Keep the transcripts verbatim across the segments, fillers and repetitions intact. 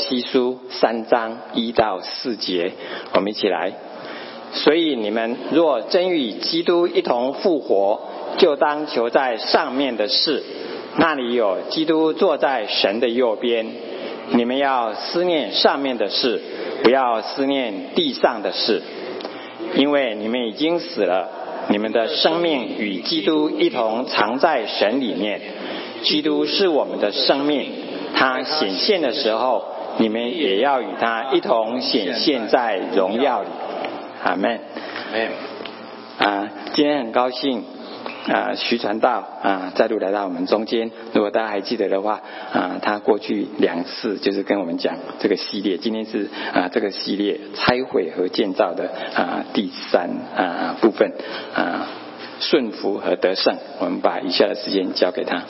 西书三章一到四节，我们一起来。所以你们若真与基督一同复活，就当求在上面的事，那里有基督坐在神的右边。你们要思念上面的事，不要思念地上的事，因为你们已经死了，你们的生命与基督一同藏在神里面。基督是我们的生命，他显现的时候，你们也要与他一同显现在荣耀里。阿们。啊，今天很高兴啊，徐传道啊再度来到我们中间。如果大家还记得的话啊，他过去两次就是跟我们讲这个系列，今天是啊这个系列拆毁和建造的啊第三啊部分啊顺服和得胜。我们把以下的时间交给他。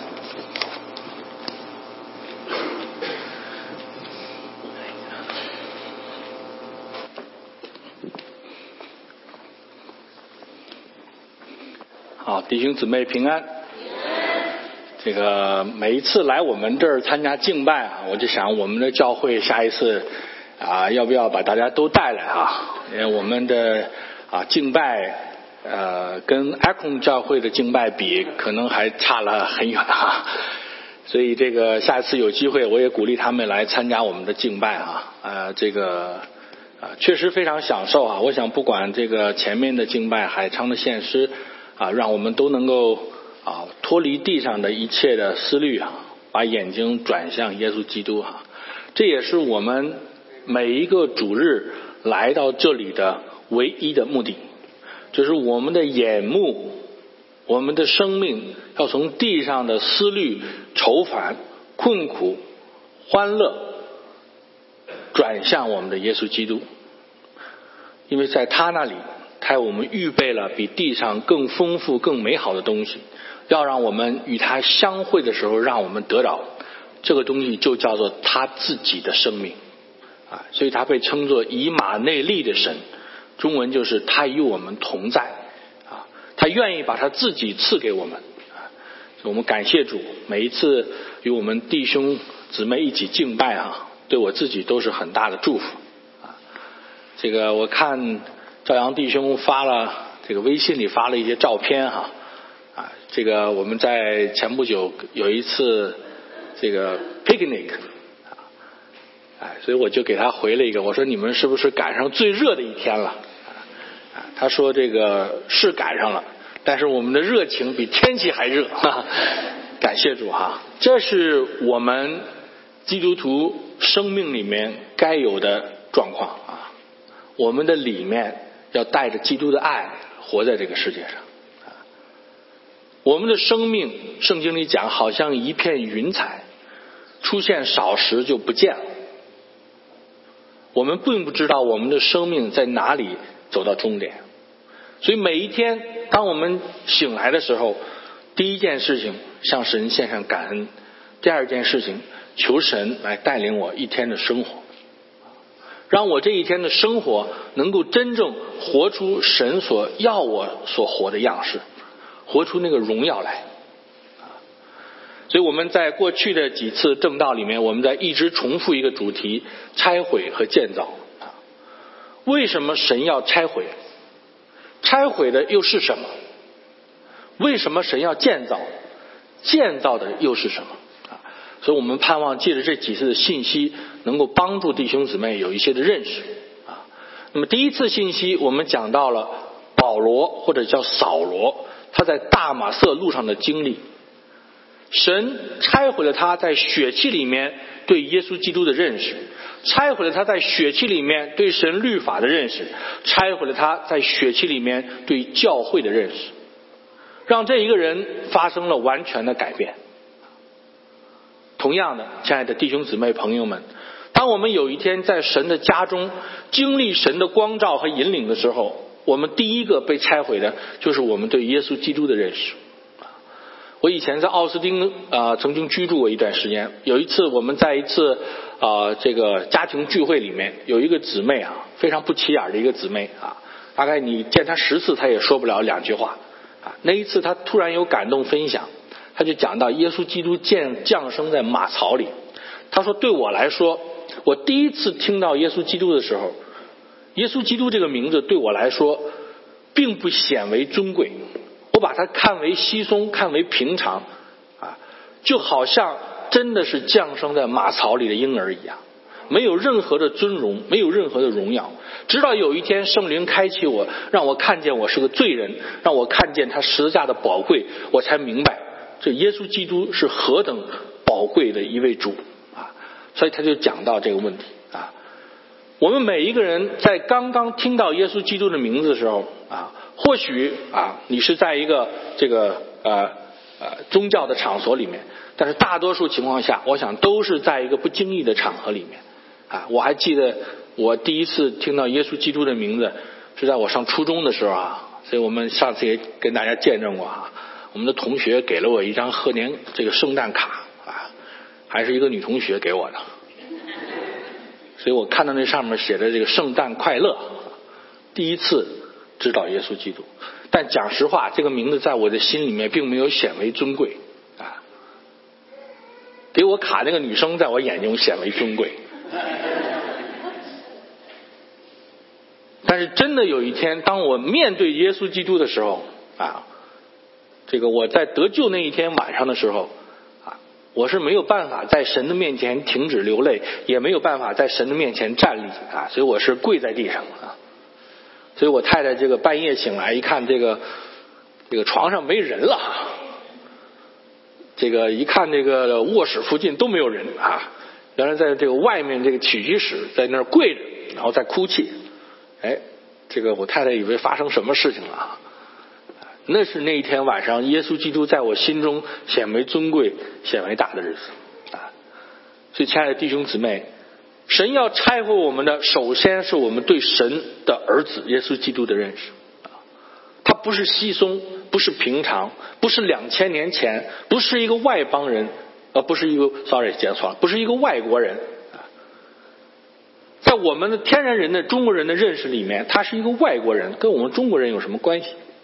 好，弟兄姊妹平安。这个每一次来我们这儿参加敬拜啊，我就想我们的教会下一次啊，要不要把大家都带来啊？因为我们的啊敬拜呃跟 Akron 教会的敬拜比，可能还差了很远啊。所以这个下一次有机会，我也鼓励他们来参加我们的敬拜啊。呃，这个啊确实非常享受啊。我想不管这个前面的敬拜、海昌的献诗。啊，让我们都能够啊脱离地上的一切的思虑啊，把眼睛转向耶稣基督啊。这也是我们每一个主日来到这里的唯一的目的，就是我们的眼目，我们的生命要从地上的思虑、愁烦、困苦、欢乐，转向我们的耶稣基督，因为在他那里。他为我们预备了比地上更丰富更美好的东西，要让我们与他相会的时候让我们得到这个东西，就叫做他自己的生命啊，所以他被称作以马内利的神，中文就是他与我们同在啊，他愿意把他自己赐给我们啊，我们感谢主，每一次与我们弟兄姊妹一起敬拜啊，对我自己都是很大的祝福啊。这个我看赵阳弟兄发了这个微信里发了一些照片哈，啊，这个我们在前不久有一次这个 picnic， 啊，哎，所以我就给他回了一个，我说你们是不是赶上最热的一天了？啊，他说这个是赶上了，但是我们的热情比天气还热，哈哈，感谢主哈，这是我们基督徒生命里面该有的状况啊，我们的里面。要带着基督的爱活在这个世界上。我们的生命，圣经里讲，好像一片云彩，出现少时就不见了。我们并不知道我们的生命在哪里走到终点，所以每一天，当我们醒来的时候，第一件事情向神献上感恩，第二件事情求神来带领我一天的生活。让我这一天的生活能够真正活出神所要我所活的样式，活出那个荣耀来。所以我们在过去的几次正道里面，我们在一直重复一个主题：拆毁和建造。为什么神要拆毁？拆毁的又是什么？为什么神要建造？建造的又是什么？所以我们盼望借着这几次的信息能够帮助弟兄姊妹有一些的认识啊。那么第一次信息我们讲到了保罗或者叫扫罗，他在大马色路上的经历，神拆毁了他在血气里面对耶稣基督的认识，拆毁了他在血气里面对神律法的认识，拆毁了他在血气里面对教会的认识，让这一个人发生了完全的改变。同样的，亲爱的弟兄姊妹朋友们，当我们有一天在神的家中经历神的光照和引领的时候，我们第一个被拆毁的就是我们对耶稣基督的认识。我以前在奥斯汀啊、呃、曾经居住过一段时间，有一次我们在一次啊、呃、这个家庭聚会里面，有一个姊妹啊，非常不起眼的一个姊妹啊，大概你见她十次她也说不了两句话啊。那一次她突然有感动分享，他就讲到耶稣基督降降生在马槽里，他说对我来说我第一次听到耶稣基督的时候，耶稣基督这个名字对我来说并不显为尊贵，我把它看为稀松，看为平常啊，就好像真的是降生在马槽里的婴儿一样，没有任何的尊荣，没有任何的荣耀。直到有一天圣灵开启我，让我看见我是个罪人，让我看见他十字架的宝贵，我才明白这耶稣基督是何等宝贵的一位主啊！所以他就讲到这个问题啊。我们每一个人在刚刚听到耶稣基督的名字的时候啊，或许啊你是在一个这个呃呃宗教的场所里面，但是大多数情况下，我想都是在一个不经意的场合里面啊。我还记得我第一次听到耶稣基督的名字是在我上初中的时候啊，所以我们上次也跟大家见证过啊。我们的同学给了我一张贺年这个圣诞卡啊，还是一个女同学给我的，所以我看到那上面写着这个圣诞快乐，第一次知道耶稣基督。但讲实话，这个名字在我的心里面并没有显为尊贵啊。给我卡那个女生在我眼中显为尊贵，但是真的有一天，当我面对耶稣基督的时候啊，这个我在得救那一天晚上的时候啊，我是没有办法在神的面前停止流泪，也没有办法在神的面前站立啊，所以我是跪在地上啊。所以我太太这个半夜醒来一看，这个这个床上没人了，这个一看这个卧室附近都没有人啊，原来在这个外面这个起居室在那儿跪着，然后在哭泣。哎，这个我太太以为发生什么事情了啊。那是那一天晚上耶稣基督在我心中显为尊贵显为大的日子啊！所以亲爱的弟兄姊妹，神要拆毁我们的，首先是我们对神的儿子耶稣基督的认识啊，他不是稀松，不是平常，不是两千年前，不是一个外邦人，呃，不是一个 sorry 讲错了，不是一个外国人啊，在我们的天然人的中国人的认识里面，他是一个外国人，跟我们中国人有什么关系？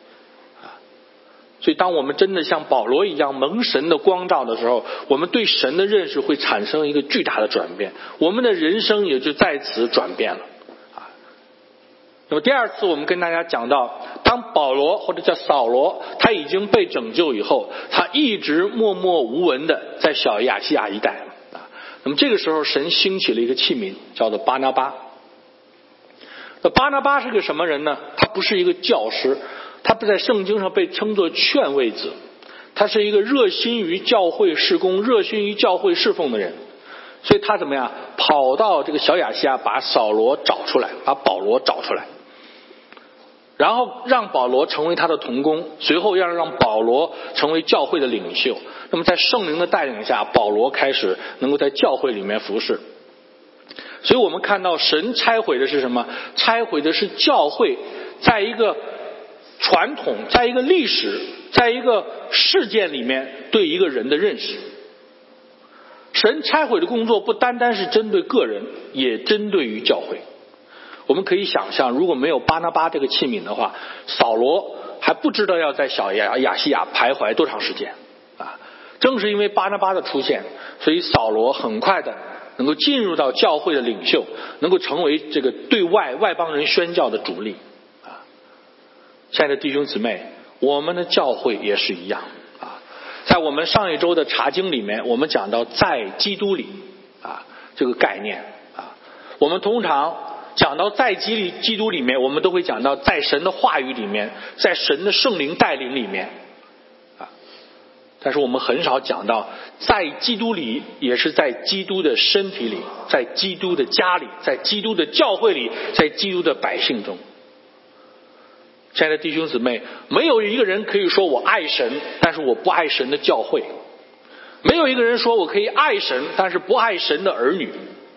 所以当我们真的像保罗一样蒙神的光照的时候，我们对神的认识会产生一个巨大的转变，我们的人生也就在此转变了啊。那么第二次我们跟大家讲到，当保罗或者叫扫罗他已经被拯救以后，他一直默默无闻的在小亚细亚一带啊。那么这个时候神兴起了一个器皿，叫做巴拿巴。那巴拿巴是个什么人呢？他不是一个教师，他不在圣经上被称作劝慰子，他是一个热心于教会事工、热心于教会侍奉的人。所以他怎么样跑到这个小亚细亚，把扫罗找出来，把保罗找出来，然后让保罗成为他的同工，随后要让保罗成为教会的领袖。那么在圣灵的带领下，保罗开始能够在教会里面服侍。所以我们看到神拆毁的是什么？拆毁的是教会在一个传统，在一个历史，在一个事件里面对一个人的认识。神拆毁的工作不单单是针对个人，也针对于教会。我们可以想象，如果没有巴拿巴这个器皿的话，扫罗还不知道要在小亚亚细亚徘徊多长时间啊！正是因为巴拿巴的出现，所以扫罗很快的能够进入到教会的领袖，能够成为这个对外外邦人宣教的主力啊！亲爱的弟兄姊妹，我们的教会也是一样啊！在我们上一周的查经里面，我们讲到在基督里啊这个概念啊，我们通常讲到在基里基督里面，我们都会讲到在神的话语里面，在神的圣灵带领里面啊，但是我们很少讲到在基督里，也是在基督的身体里，在基督的家里，在基督的教会里，在基督的百姓中。亲爱的弟兄姊妹，没有一个人可以说我爱神，但是我不爱神的教会；没有一个人说我可以爱神，但是不爱神的儿女。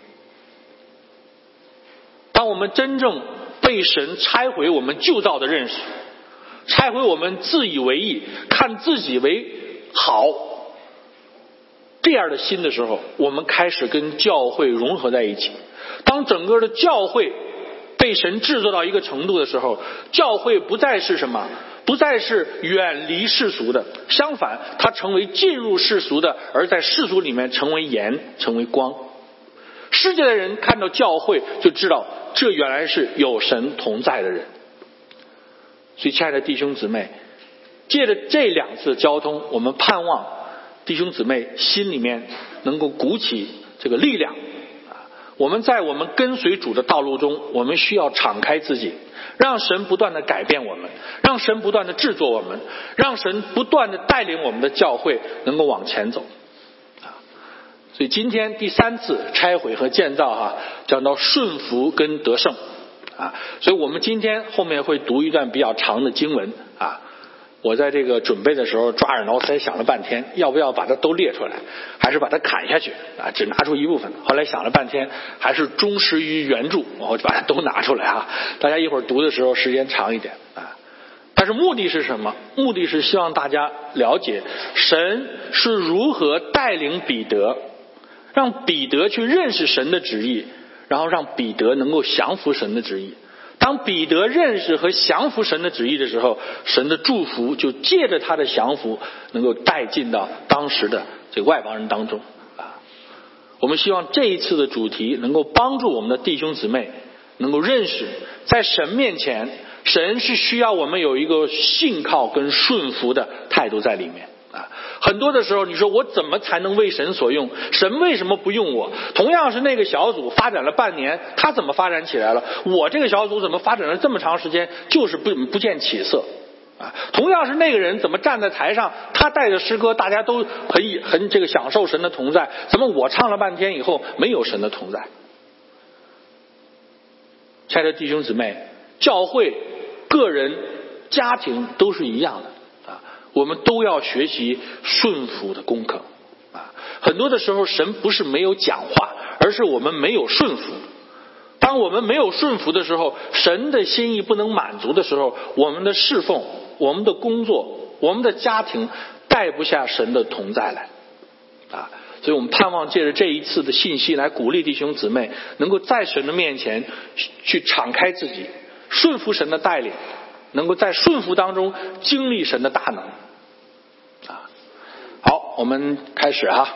当我们真正被神拆毁我们旧造的认识，拆毁我们自以为意、看自己为好这样的心的时候，我们开始跟教会融合在一起。当整个的教会被神制作到一个程度的时候，教会不再是什么？不再是远离世俗的，相反，它成为进入世俗的，而在世俗里面成为盐，成为光。 世界的人看到教会就知道这原来是有神同在的人。所以亲爱的弟兄姊妹，借着这两次交通，我们盼望弟兄姊妹心里面能够鼓起这个力量。我们在我们跟随主的道路中，我们需要敞开自己，让神不断的改变我们，让神不断的制作我们，让神不断的带领我们的教会能够往前走。所以今天第三次拆毁和建造哈，讲到顺服跟得胜啊，所以我们今天后面会读一段比较长的经文啊。我在这个准备的时候抓耳挠腮想了半天，要不要把它都列出来，还是把它砍下去啊？只拿出一部分。后来想了半天，还是忠实于原著，我就把它都拿出来啊。大家一会儿读的时候时间长一点啊。但是目的是什么？目的是希望大家了解神是如何带领彼得，让彼得去认识神的旨意，然后让彼得能够降服神的旨意。当彼得认识和降服神的旨意的时候，神的祝福就借着他的降服能够带进到当时的这个外邦人当中啊。我们希望这一次的主题能够帮助我们的弟兄姊妹能够认识，在神面前，神是需要我们有一个信靠跟顺服的态度在里面啊。很多的时候你说我怎么才能为神所用？神为什么不用我？同样是那个小组发展了半年，他怎么发展起来了？我这个小组怎么发展了这么长时间就是不不见起色啊？同样是那个人怎么站在台上，他带着诗歌大家都很很这个享受神的同在，怎么我唱了半天以后没有神的同在？亲爱的弟兄姊妹，教会、个人、家庭都是一样的。我们都要学习顺服的功课啊！很多的时候神不是没有讲话，而是我们没有顺服。当我们没有顺服的时候，神的心意不能满足的时候，我们的侍奉、我们的工作、我们的家庭带不下神的同在来啊！所以我们盼望借着这一次的信息来鼓励弟兄姊妹能够在神的面前去敞开自己，顺服神的带领，能够在顺服当中经历神的大能啊！好，我们开始哈，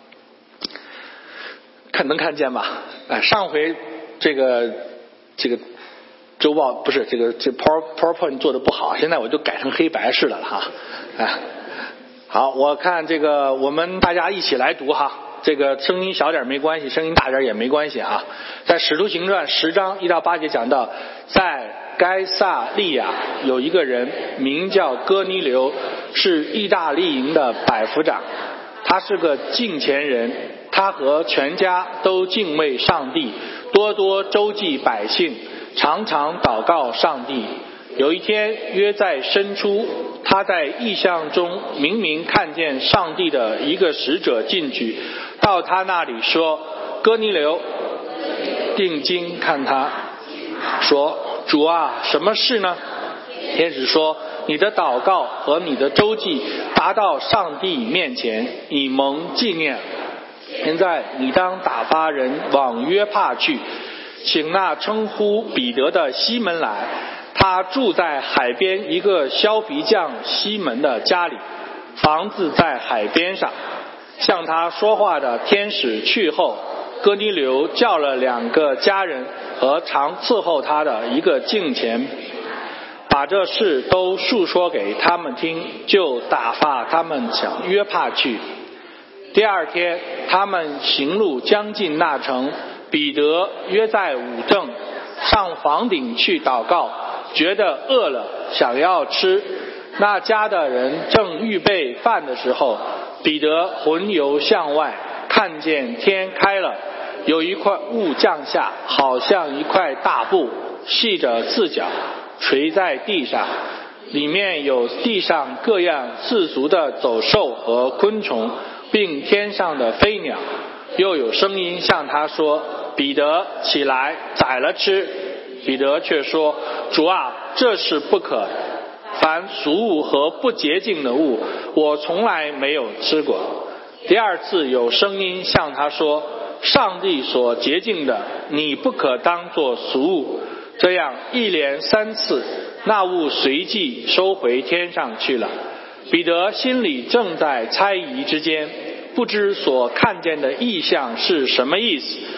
看能看见吧？哎，上回这个这个周报不是这个这 Power PowerPoint 做的不好，现在我就改成黑白式的了哈。哎，好，我看这个我们大家一起来读哈。这个声音小点没关系，声音大点也没关系啊。在使徒行传十章一到八节讲到，在该撒利亚有一个人名叫哥尼流，是意大利营的百夫长，他是个敬虔人，他和全家都敬畏上帝，多多周济百姓，常常祷告上帝。有一天约在申初，他在异象中明明看见上帝的一个使者进去，到他那里说：哥尼流，定睛看他，说：主啊，什么事呢？天使说：你的祷告和你的周济达到上帝面前，以蒙纪念。现在你当打发人往约帕去，请那称呼彼得的西门来，他住在海边一个削皮匠西门的家里，房子在海边上。向他说话的天使去后，哥尼流叫了两个家人和常伺候他的一个敬虔，把这事都述说给他们听，就打发他们向约帕去。第二天他们行路将近那城，彼得约在午正上房顶去祷告，觉得饿了，想要吃。那家的人正预备饭的时候，彼得魂游向外，看见天开了，有一块雾降下，好像一块大布，系着四角，垂在地上，里面有地上各样四足的走兽和昆虫，并天上的飞鸟。又有声音向他说：彼得，起来，宰了吃。彼得却说：主啊，这是不可，凡俗物和不洁净的物，我从来没有吃过。第二次有声音向他说：上帝所洁净的，你不可当作俗物。这样一连三次，那物随即收回天上去了。彼得心里正在猜疑之间，不知所看见的异象是什么意思。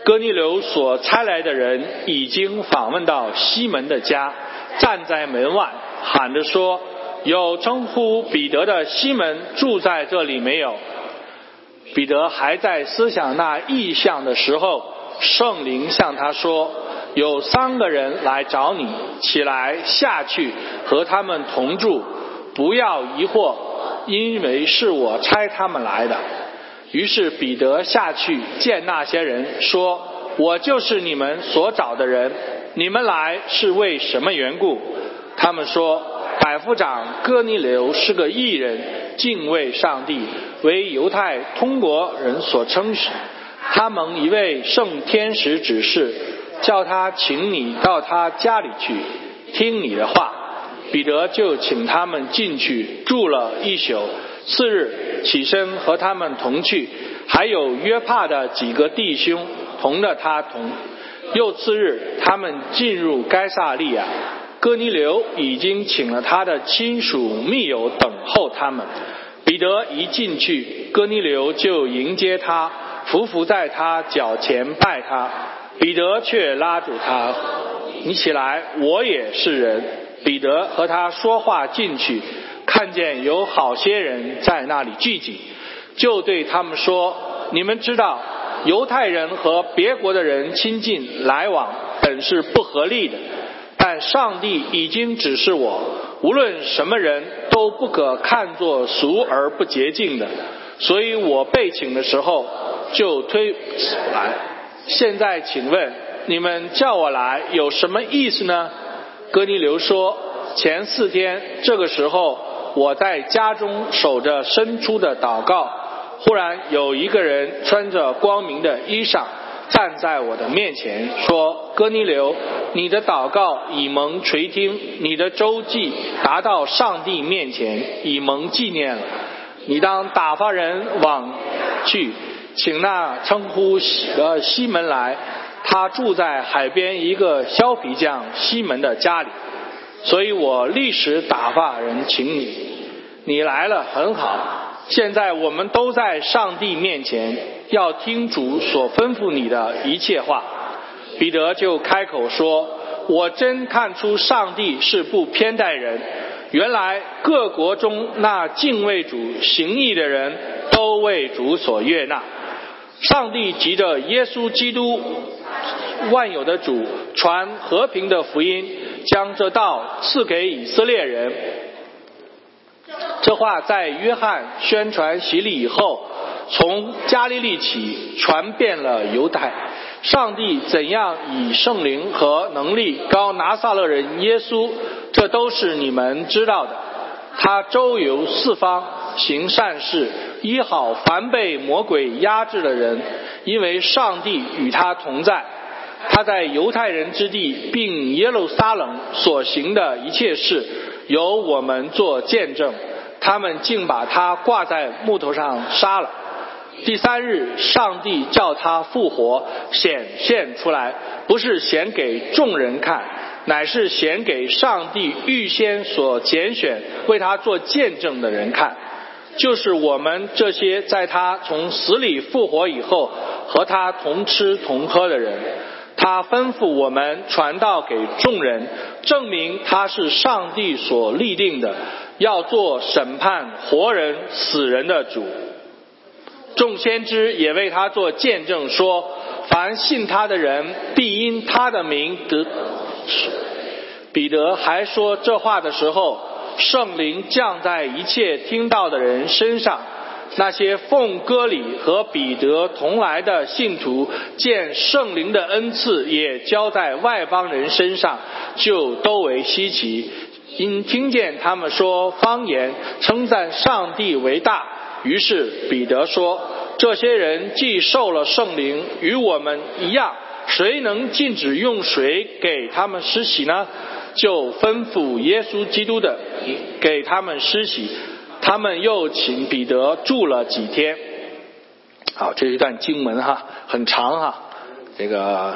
哥尼流所差来的人已经访问到西门的家，站在门外喊着说，有称呼彼得的西门住在这里没有？彼得还在思想那异象的时候，圣灵向他说，有三个人来找你，起来下去和他们同住，不要疑惑，因为是我差他们来的。于是彼得下去见那些人，说，我就是你们所找的人，你们来是为什么缘故？他们说，百夫长哥尼流是个义人，敬畏上帝，为犹太通国人所称许。他蒙一位圣天使指示，叫他请你到他家里去，听你的话。彼得就请他们进去，住了一宿。次日起身和他们同去，还有约帕的几个弟兄同着他同。又次日，他们进入该撒利亚，哥尼流已经请了他的亲属密友等候他们。彼得一进去，哥尼流就迎接他，匍匐在他脚前拜他。彼得却拉住他，你起来，我也是人。彼得和他说话进去，看见有好些人在那里聚集，就对他们说，你们知道犹太人和别国的人亲近来往本是不合理的，但上帝已经指示我，无论什么人都不可看作俗而不洁净的，所以我被请的时候就推来。现在请问你们叫我来有什么意思呢？哥尼流说，前四天这个时候，我在家中守着伸出的祷告，忽然有一个人穿着光明的衣裳站在我的面前，说，哥尼流，你的祷告已蒙垂听，你的周记达到上帝面前，已蒙纪念了。你当打发人往去，请那称呼呃西门来，他住在海边一个削皮匠西门的家里。所以我立时打发人请你，你来了很好。现在我们都在上帝面前，要听主所吩咐你的一切话。彼得就开口说，我真看出上帝是不偏待人，原来各国中那敬畏主行义的人都为主所悦纳。上帝藉着耶稣基督万有的主传和平的福音，将这道赐给以色列人。这话在约翰宣传洗礼以后，从加利利起传遍了犹太。上帝怎样以圣灵和能力膏拿撒勒人耶稣，这都是你们知道的。他周游四方，行善事，医好凡被魔鬼压制的人，因为上帝与他同在。他在犹太人之地并耶路撒冷所行的一切事，由我们做见证。他们竟把他挂在木头上杀了。第三日，上帝叫他复活，显现出来，不是显给众人看，乃是显给上帝预先所拣选为他做见证的人看，就是我们这些在他从死里复活以后和他同吃同喝的人。他吩咐我们传道给众人，证明他是上帝所立定的，要做审判活人死人的主。众先知也为他做见证，说凡信他的人必因他的名得。彼得还说这话的时候，圣灵降在一切听到的人身上。那些奉割礼和彼得同来的信徒，见圣灵的恩赐也交在外邦人身上，就都为稀奇，因听见他们说方言，称赞上帝为大。于是彼得说，这些人既受了圣灵，与我们一样，谁能禁止用水给他们施洗呢？就吩咐耶稣基督的给他们施洗。他们又请彼得住了几天。好，这是一段经文哈，很长哈。这个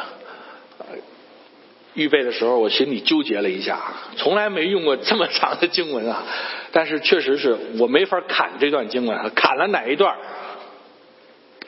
预备的时候我心里纠结了一下，从来没用过这么长的经文啊。但是确实是我没法砍这段经文啊，砍了哪一段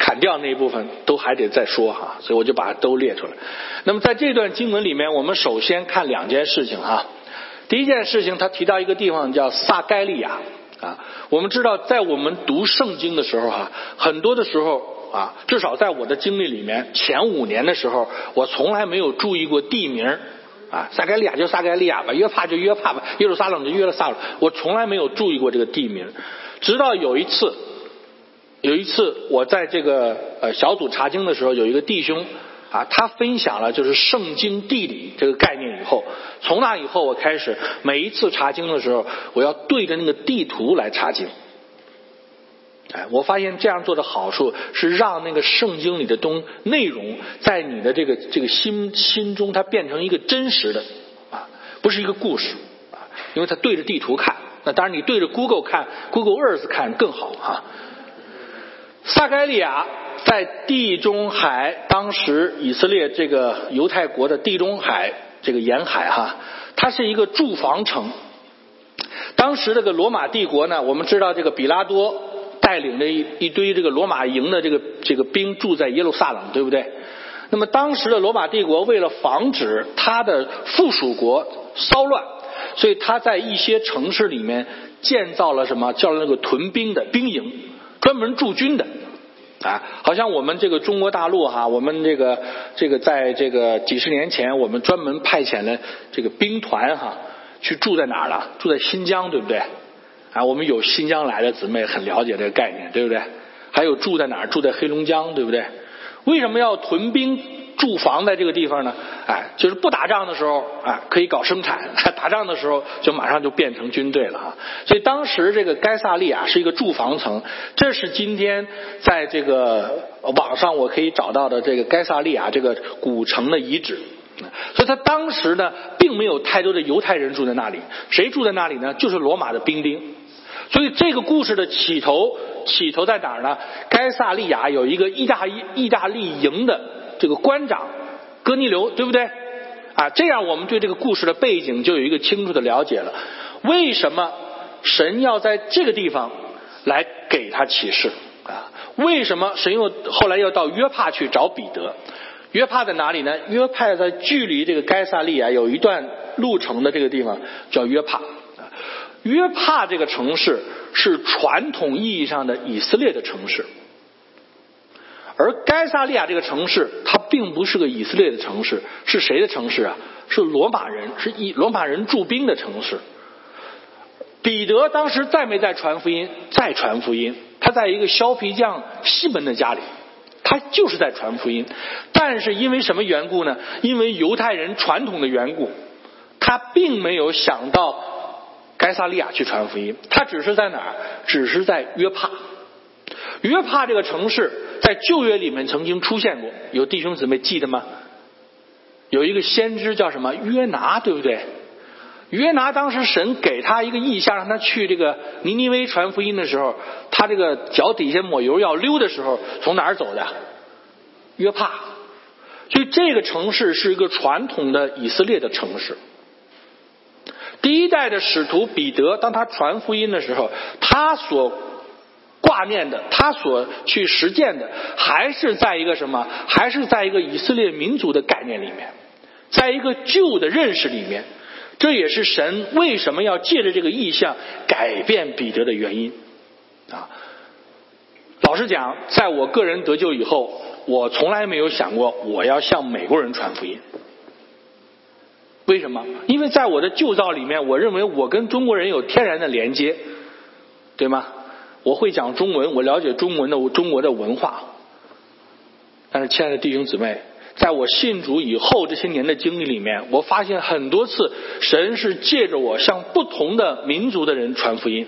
砍掉那一部分都还得再说哈，所以我就把它都列出来。那么在这段经文里面，我们首先看两件事情哈。第一件事情，他提到一个地方叫撒该利亚啊。我们知道，在我们读圣经的时候哈，很多的时候啊，至少在我的经历里面，前五年的时候，我从来没有注意过地名啊。撒该利亚就撒该利亚吧，约帕就约帕吧，耶路撒冷就耶路撒冷，我从来没有注意过这个地名。直到有一次，有一次我在这个呃小组查经的时候，有一个弟兄啊，他分享了就是圣经地理这个概念以后，从那以后我开始每一次查经的时候，我要对着那个地图来查经。哎，我发现这样做的好处是让那个圣经里的东内容在你的这个这个心心中，它变成一个真实的啊，不是一个故事啊，因为它对着地图看。那当然你对着 Google 看 Google Earth 看更好啊。撒该利亚在地中海，当时以色列这个犹太国的地中海这个沿海哈，它是一个住房城。当时这个罗马帝国呢，我们知道这个比拉多带领着一一堆这个罗马营的这个这个兵住在耶路撒冷，对不对？那么当时的罗马帝国为了防止他的附属国骚乱，所以他在一些城市里面建造了什么叫那个屯兵的兵营，专门驻军的啊，好像我们这个中国大陆哈，我们这个这个在这个几十年前，我们专门派遣了这个兵团哈，去住在哪儿了？住在新疆，对不对？啊，我们有新疆来的姊妹很了解这个概念，对不对？还有住在哪儿？住在黑龙江，对不对？为什么要屯兵驻防在这个地方呢？哎，就是不打仗的时候啊，可以搞生产；打仗的时候就马上就变成军队了哈。所以当时这个该萨利亚是一个驻防城，这是今天在这个网上我可以找到的这个该萨利亚这个古城的遗址。所以他当时呢，并没有太多的犹太人住在那里，谁住在那里呢？就是罗马的兵丁。所以这个故事的起头，起头在哪儿呢？该萨利亚有一个意大利意大利营的这个官长哥尼流，对不对？啊，这样我们对这个故事的背景就有一个清楚的了解了。为什么神要在这个地方来给他启示啊？为什么神又后来要到约帕去找彼得？约帕在哪里呢？约帕在距离这个该萨利亚有一段路程的这个地方叫约帕。约帕这个城市是传统意义上的以色列的城市，而该萨利亚这个城市它并不是个以色列的城市，是谁的城市啊？是罗马人，是以罗马人驻兵的城市。彼得当时在没在传福音？在传福音，他在一个削皮匠西门的家里，他就是在传福音。但是因为什么缘故呢？因为犹太人传统的缘故，他并没有想到该萨利亚去传福音，他只是在哪儿？只是在约帕。约帕这个城市在旧约里面曾经出现过，有弟兄姊妹记得吗？有一个先知叫什么约拿，对不对？约拿当时神给他一个意象，让他去这个尼尼微传福音的时候，他这个脚底下抹油要溜的时候，从哪儿走的？约帕。所以这个城市是一个传统的以色列的城市。第一代的使徒彼得，当他传福音的时候，他所挂念的，他所去实践的，还是在一个什么？还是在一个以色列民族的概念里面，在一个旧的认识里面。这也是神为什么要借着这个意象改变彼得的原因啊。老实讲，在我个人得救以后，我从来没有想过我要向美国人传福音。为什么？因为在我的旧造里面，我认为我跟中国人有天然的连接，对吗？我会讲中文，我了解中文的中国的文化。但是亲爱的弟兄姊妹，在我信主以后这些年的经历里面，我发现很多次神是借着我向不同的民族的人传福音。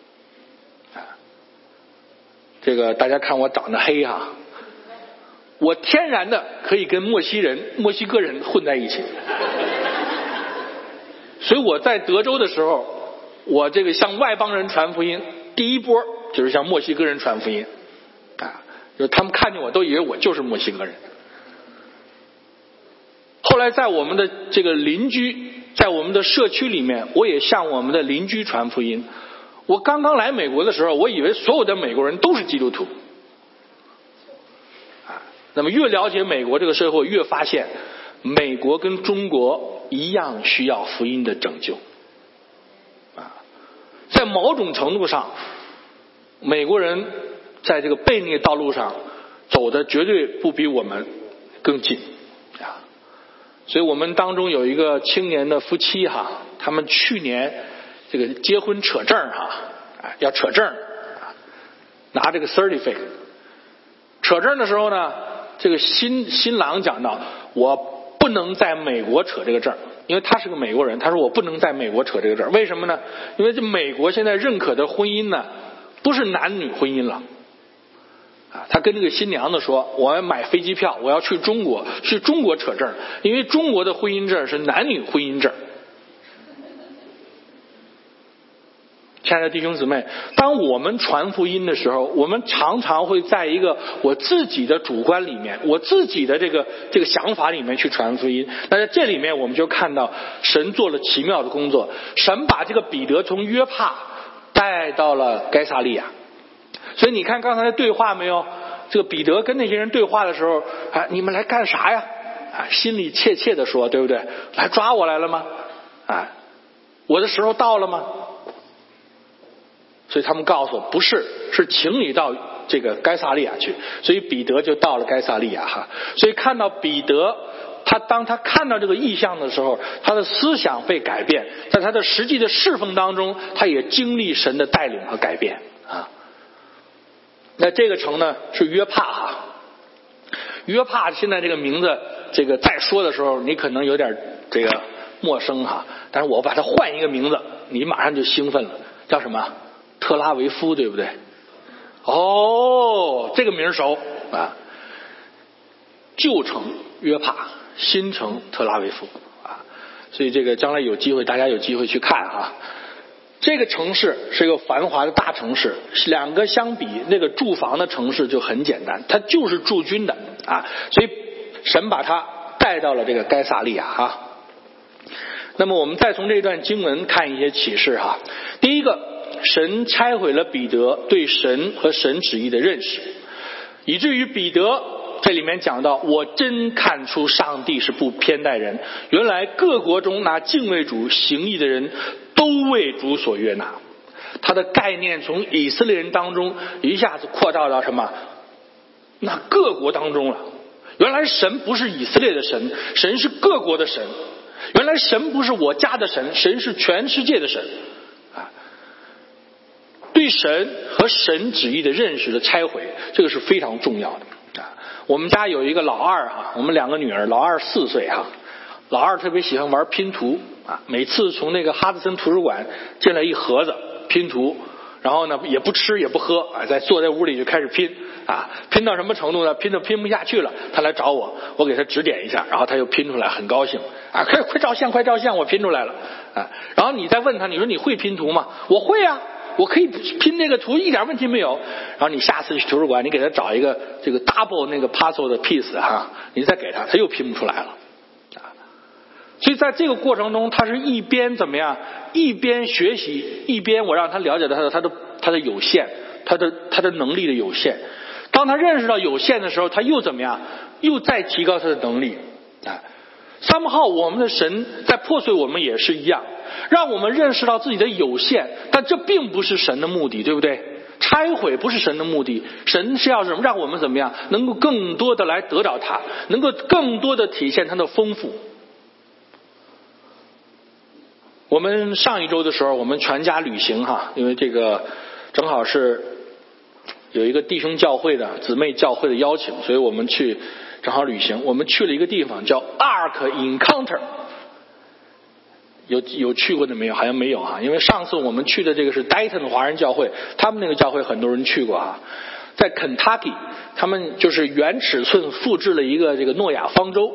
这个大家看我长得黑哈，我天然的可以跟墨西人、墨西哥人混在一起。所以我在德州的时候，我这个向外邦人传福音，第一波就是向墨西哥人传福音啊，就是他们看见我都以为我就是墨西哥人。后来在我们的这个邻居，在我们的社区里面，我也向我们的邻居传福音。我刚刚来美国的时候，我以为所有的美国人都是基督徒， 那么越了解美国这个社会，越发现美国跟中国一样需要福音的拯救啊。在某种程度上，美国人在这个悖逆道路上走的绝对不比我们更近啊。所以我们当中有一个青年的夫妻哈，他们去年这个结婚扯证哈，啊要扯证，拿这个 certificate。扯证的时候呢，这个新新郎讲到，我不能在美国扯这个证，因为他是个美国人，他说我不能在美国扯这个证，为什么呢？因为这美国现在认可的婚姻呢，不是男女婚姻了。啊，他跟这个新娘子说，我要买飞机票，我要去中国，去中国扯证，因为中国的婚姻证是男女婚姻证。亲爱的弟兄姊妹，当我们传福音的时候，我们常常会在一个我自己的主观里面，我自己的这个这个想法里面去传福音。那在这里面我们就看到神做了奇妙的工作，神把这个彼得从约帕带到了该撒利亚。所以你看刚才的对话没有？这个彼得跟那些人对话的时候，啊，你们来干啥呀？啊，心里切切的说，对不对？来抓我来了吗？啊，我的时候到了吗？所以他们告诉我，不是，是请你到这个该撒利亚去。所以彼得就到了该撒利亚哈。所以看到彼得，他当他看到这个异象的时候，他的思想被改变，在他的实际的侍奉当中，他也经历神的带领和改变啊。那这个城呢是约帕哈。约帕现在这个名字，这个再说的时候，你可能有点这个陌生哈。但是我把它换一个名字，你马上就兴奋了，叫什么？特拉维夫，对不对？哦，这个名熟啊。旧城约帕，新城特拉维夫啊。所以这个将来有机会，大家有机会去看哈。这个城市是一个繁华的大城市，两个相比，那个住房的城市就很简单，它就是驻军的啊。所以神把他带到了这个该撒利亚哈。那么我们再从这段经文看一些启示哈。第一个，神拆毁了彼得对神和神旨意的认识，以至于彼得这里面讲到，我真看出上帝是不偏待人，原来各国中那敬畏主行义的人都为主所悦纳。他的概念从以色列人当中一下子扩大到什么？那各国当中了。原来神不是以色列的神，神是各国的神。原来神不是我家的神，神是全世界的神啊。对神和神旨意的认识的拆毁，这个是非常重要的啊。我们家有一个老二哈，我们两个女儿，老二四岁哈，老二特别喜欢玩拼图啊，每次从那个哈德森图书馆进来一盒子拼图，然后呢也不吃也不喝啊，在坐在屋里就开始拼啊，拼到什么程度呢？拼到拼不下去了，他来找我，我给他指点一下，然后他又拼出来，很高兴啊，快快照相，快照相，我拼出来了啊。然后你再问他，你说你会拼图吗？我会啊。我可以拼那个图，一点问题没有。然后你下次去图书馆，你给他找一个这个 double 那个 puzzle 的 piece 哈，你再给他，他又拼不出来了啊。所以在这个过程中，他是一边怎么样，一边学习，一边我让他了解到他的他的他的有限，他的他的能力的有限。当他认识到有限的时候，他又怎么样，又再提高他的能力啊。somehow我们的神在破碎我们也是一样，让我们认识到自己的有限，但这并不是神的目的，对不对？拆毁不是神的目的，神是要让我们怎么样，能够更多的来得到它，能够更多的体现它的丰富。我们上一周的时候，我们全家旅行哈，因为这个正好是有一个弟兄教会的姊妹教会的邀请，所以我们去正好旅行。我们去了一个地方叫 Ark Encounter， 有有去过的没有？好像没有啊，因为上次我们去的这个是 Dayton 华人教会，他们那个教会很多人去过啊。在 Kentucky， 他们就是原尺寸复制了一个这个诺亚方舟。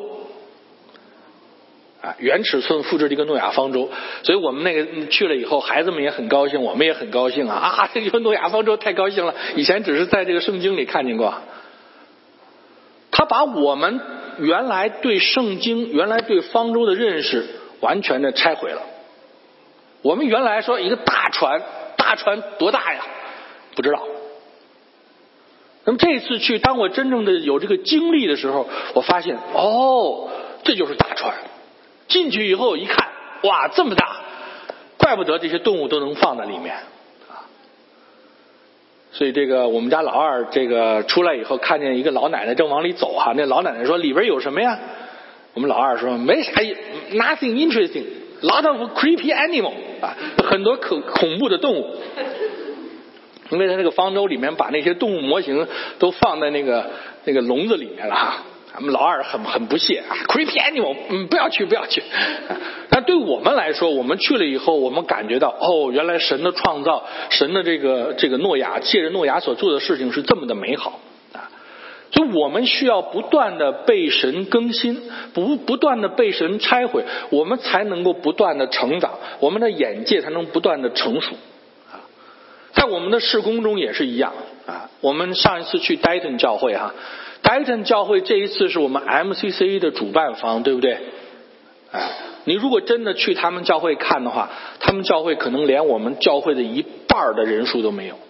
啊，原尺寸复制这个诺亚方舟，所以我们那个去了以后，孩子们也很高兴，我们也很高兴啊！啊，这个诺亚方舟太高兴了，以前只是在这个圣经里看见过。他把我们原来对圣经、原来对方舟的认识完全的拆毁了。我们原来说一个大船，大船多大呀？不知道。 那么这一次去，当我真正的有这个经历的时候，我发现哦，这就是大船。进去以后一看，哇，这么大，怪不得这些动物都能放在里面啊。所以这个我们家老二这个出来以后，看见一个老奶奶正往里走哈，那老奶奶说里边有什么呀？我们老二说没啥 ，nothing interesting，lot of creepy animal 啊，很多可恐怖的动物。因为他那个方舟里面把那些动物模型都放在那个那个笼子里面了哈。咱们老二很很不屑啊 ，creepy animal， 嗯，不要去，不要去。但对我们来说，我们去了以后，我们感觉到哦，原来神的创造，神的这个这个诺亚，借着诺亚所做的事情是这么的美好啊！所以我们需要不断的被神更新，不不断的被神拆毁，我们才能够不断的成长，我们的眼界才能不断的成熟啊！在我们的事工中也是一样啊！我们上一次去 Dayton 教会哈。Dayton 教会这一次是我们 M C C 的主办方，对不对？哎，你如果真的去他们教会看的话，他们教会可能连我们教会的一半的人数都没有。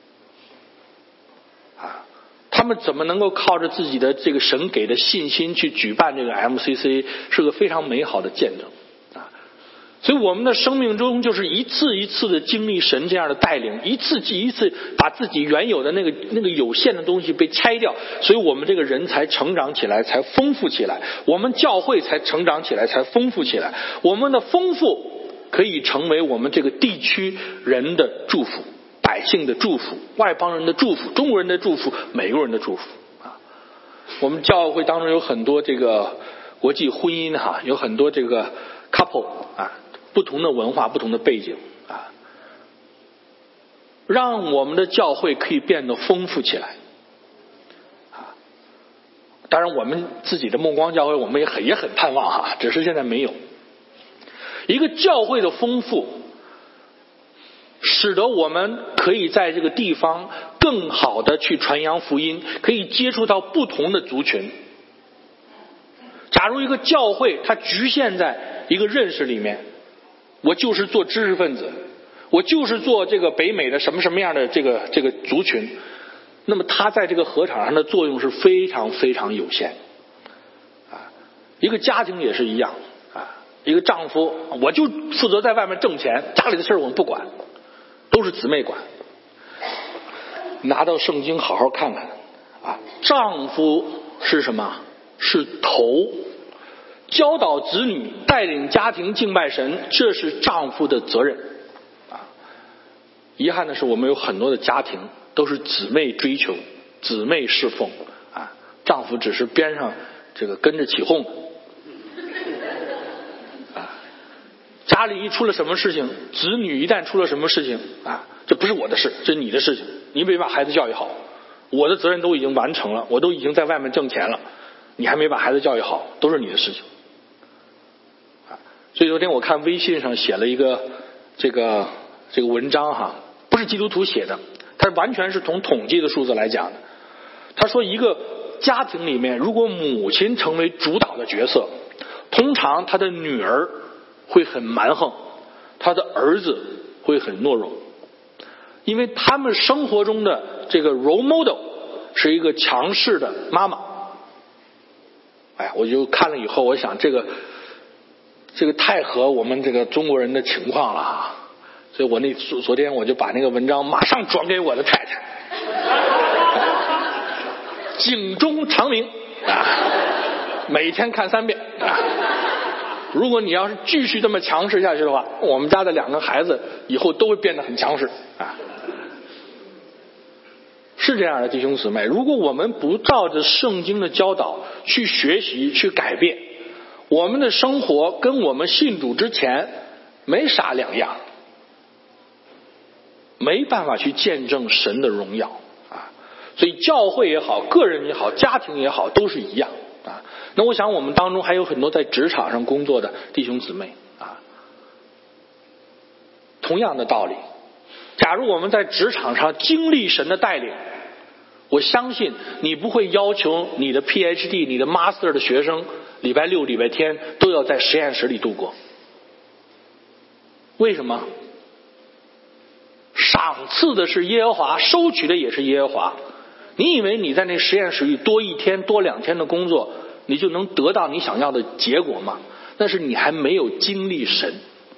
啊，他们怎么能够靠着自己的这个神给的信心去举办这个 M C C， 是个非常美好的见证。所以我们的生命中就是一次一次的经历神这样的带领，一次一次把自己原有的那个那个有限的东西被拆掉，所以我们这个人才成长起来，才丰富起来，我们教会才成长起来，才丰富起来。我们的丰富可以成为我们这个地区人的祝福，百姓的祝福，外邦人的祝福，中国人的祝福，美国人的祝福啊。我们教会当中有很多这个国际婚姻哈，有很多这个 couple 啊。不同的文化，不同的背景啊，让我们的教会可以变得丰富起来啊。当然，我们自己的梦光教会，我们也很也很盼望哈，只是现在没有。一个教会的丰富，使得我们可以在这个地方更好的去传扬福音，可以接触到不同的族群。假如一个教会它局限在一个认识里面，我就是做知识分子，我就是做这个北美的什么什么样的这个这个族群，那么他在这个禾场上的作用是非常非常有限啊。一个家庭也是一样啊，一个丈夫我就负责在外面挣钱，家里的事我们不管，都是姊妹管。拿到圣经好好看看啊，丈夫是什么？是头。教导子女，带领家庭敬拜神，这是丈夫的责任啊。遗憾的是，我们有很多的家庭都是姊妹追求、姊妹侍奉啊，丈夫只是边上这个跟着起哄啊。家里一出了什么事情，子女一旦出了什么事情啊，这不是我的事，这是你的事情，你没把孩子教育好，我的责任都已经完成了，我都已经在外面挣钱了，你还没把孩子教育好，都是你的事情。所以昨天我看微信上写了一个这个这个文章哈，不是基督徒写的，它完全是从统计的数字来讲的。他说一个家庭里面，如果母亲成为主导的角色，通常他的女儿会很蛮横，他的儿子会很懦弱，因为他们生活中的这个 role model 是一个强势的妈妈。哎呀，我就看了以后，我想这个。这个太合我们这个中国人的情况了啊！所以我那昨天我就把那个文章马上转给我的太太，警钟长鸣啊，每天看三遍啊。如果你要是继续这么强势下去的话，我们家的两个孩子以后都会变得很强势啊。是这样的，弟兄姊妹，如果我们不照着圣经的教导去学习、去改变，我们的生活跟我们信主之前没啥两样，没办法去见证神的荣耀啊！所以教会也好，个人也好，家庭也好，都是一样啊。那我想我们当中还有很多在职场上工作的弟兄姊妹啊，同样的道理。假如我们在职场上经历神的带领，我相信你不会要求你的 P H D、你的 Master 的学生礼拜六、礼拜天都要在实验室里度过。为什么？赏赐的是耶和华，收取的也是耶和华。 你以为你在那实验室里多一天多两天的工作，你就能得到你想要的结果吗？那是你还没有经历神。